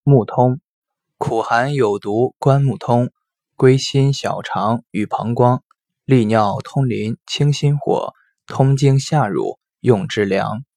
木通，苦寒有毒，关木通，归心小肠与膀胱，利尿通淋，清心火，通经下乳，用之凉。